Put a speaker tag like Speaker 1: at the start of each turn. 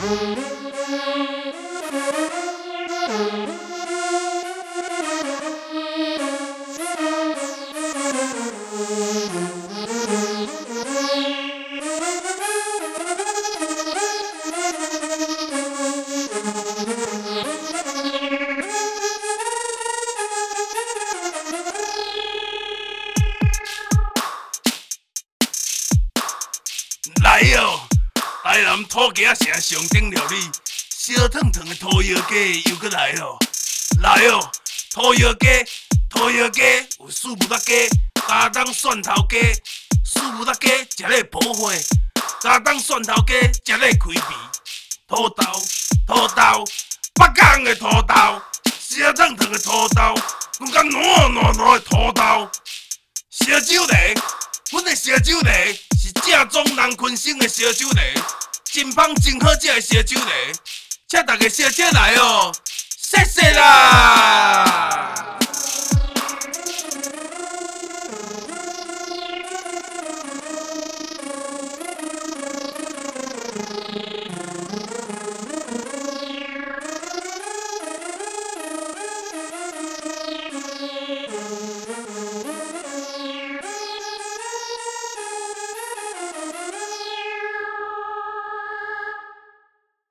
Speaker 1: 來哦，台南土家城上頂料理，燒燙燙的土窯雞又閣來咯。來哦，土窯雞有四物仔雞、加當蒜頭雞、四物仔雞食咧補血，加當蒜頭雞食咧開胃。土豆，北港的土豆，燒燙燙的土豆，更加軟的土豆。燒酒螺，阮的燒酒螺是正宗人群生的燒酒螺，真芳真好食的燒酒螺，請大家小姐來哦，謝謝啦。